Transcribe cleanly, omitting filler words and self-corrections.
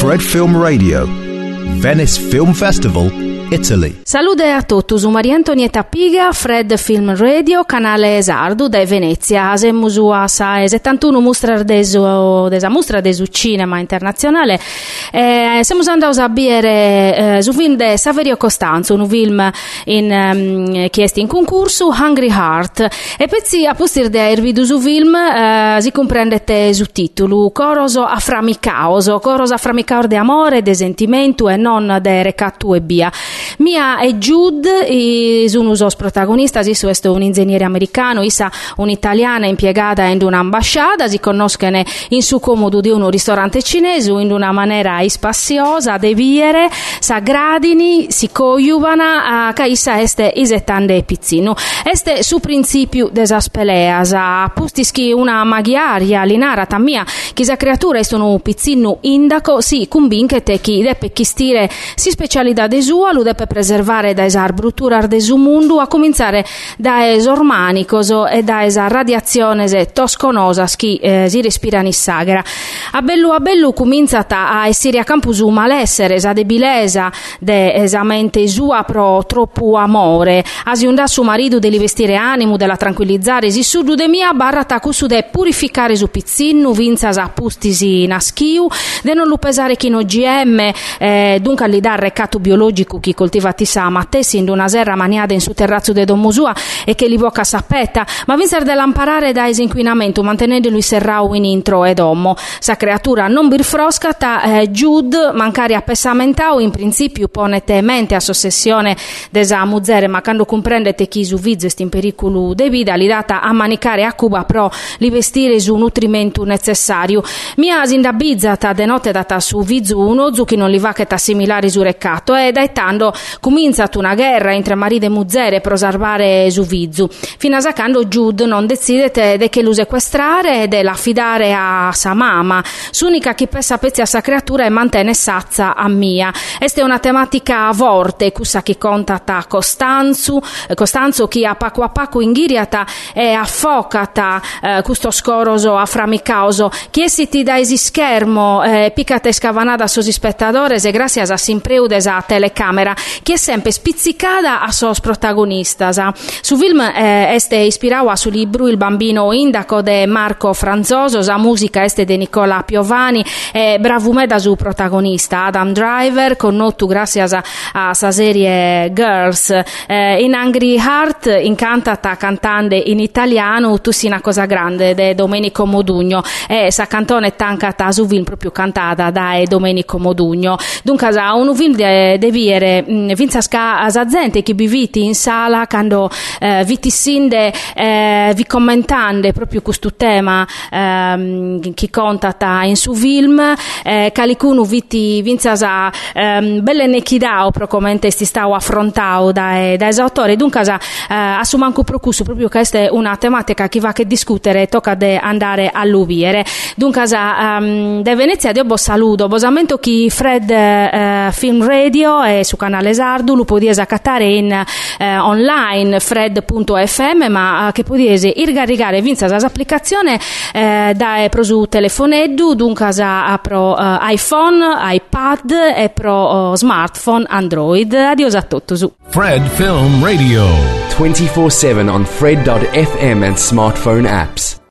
Fred Film Radio, Venice Film Festival, Italy. Salute a tutti, su Maria Antonietta Piga, Fred Film Radio, canale Sardu da Venezia. Asemus a sa 71 mostra desu cinema internazionale. Siamo andati a vedere su film di Saverio Costanzo, un film chiesto in concorso, Hungry Heart. E pezzi a postir di aver visto su film si comprendete su titolo Coros afframicaos de amore, de sentimento e non de recattu e via. Mia e Jude sono i protagonisti, questo è un ingegnere americano, issa un'italiana impiegata in un'ambasciata, si conoscono in su comodo di un ristorante cinese in una maniera spassiosa, de viere, s'aggradini, si coiuvana, che issa este isettande pizzino. Este su principio desa speleas, a pustischi una maghiaria, linara tammia, chisa creatura est un pizzino indaco, si convinchete chi deppe chistire si specialità de sua, lu deppe preservare da esar brutturar de su mundu, a cominciare da esormanicos e da esa radiazione tosconosas chi si respira in sagra. A bellu cominciata a essere a campusu malessere, esa debilesa de esamente sua pro troppo amore, asiunda su marito de li vestire animo, della tranquillizzare si sudu de mia barrata cusu de purificare su pizzinu, vinzas a pustisi naschiu, de non lu pesare chi no GM, dunque li dà recatto biologico chi coltiva tissa mattessi in una serra maniada in su terrazzo de dommusua e che li voca sappetta, ma vinzer dell'amparare da esinquinamento mantenendolo serrau in intro ed ommo. Sa creatura non birfroscata, Jude mancare appessamentau in principio ponete mente a sossessione desa muzzere, ma quando comprendete chi su vizzo est in pericolo de vida li data a manicare a Cuba pro li vestire su nutrimento necessario. Mia sindabizzata de notte data su vizzo uno zu chi non li va che t'assimilare su recatto e dai tando cominciat una guerra entre marito e muzzere pro salvare su vizzo fino a sacando Jude non decidete de che lu sequestrare e de l'affidare a sa mamma, s'unica chi pessa pezzi a sa creatura e mantene sazza a mia. Este una tematica vorte cussa chi contata Costanzo chi a pacu inghiriata e affocata custo scoroso afframicaoso chi esiti da esi schermo picate scavanada sosi spettatores e grazie a simpreudes a telecamera chi è sempre spizzicata a sos protagonistas. Su film este ispirau a su libro Il bambino indaco de Marco Franzoso, sa musica este de Nicola Piovani e bravume da su protagonista Adam Driver connotu grazie a sa serie Girls. In Hungry Heart incantata cantante in italiano tu si una cosa grande de Domenico Modugno e sa cantone tancata su film proprio cantata da Domenico Modugno. Dunque un film de viere vinzasca a gente che biviti in sala quando vitissinde vi commentande proprio questo tema chi contata in su film calicuno viti vinzasa belle nechidao pro commente sti stau affrontau da esautore dunque a su manco procusso proprio che è una tematica che va che discutere tocca de andare a luviere dunque de Venezia dio bo saludo bosamento chi Fred Film Radio e su canale Sardu lo podiesi accattare in online fred.fm ma che podiesi irgarigare vinza l'applicazione da pro su telefoneddu dunque a pro iPhone, iPad e pro smartphone Android. Adios a tutti su Fred Film Radio 24/7 on Fred.fm and smartphone apps.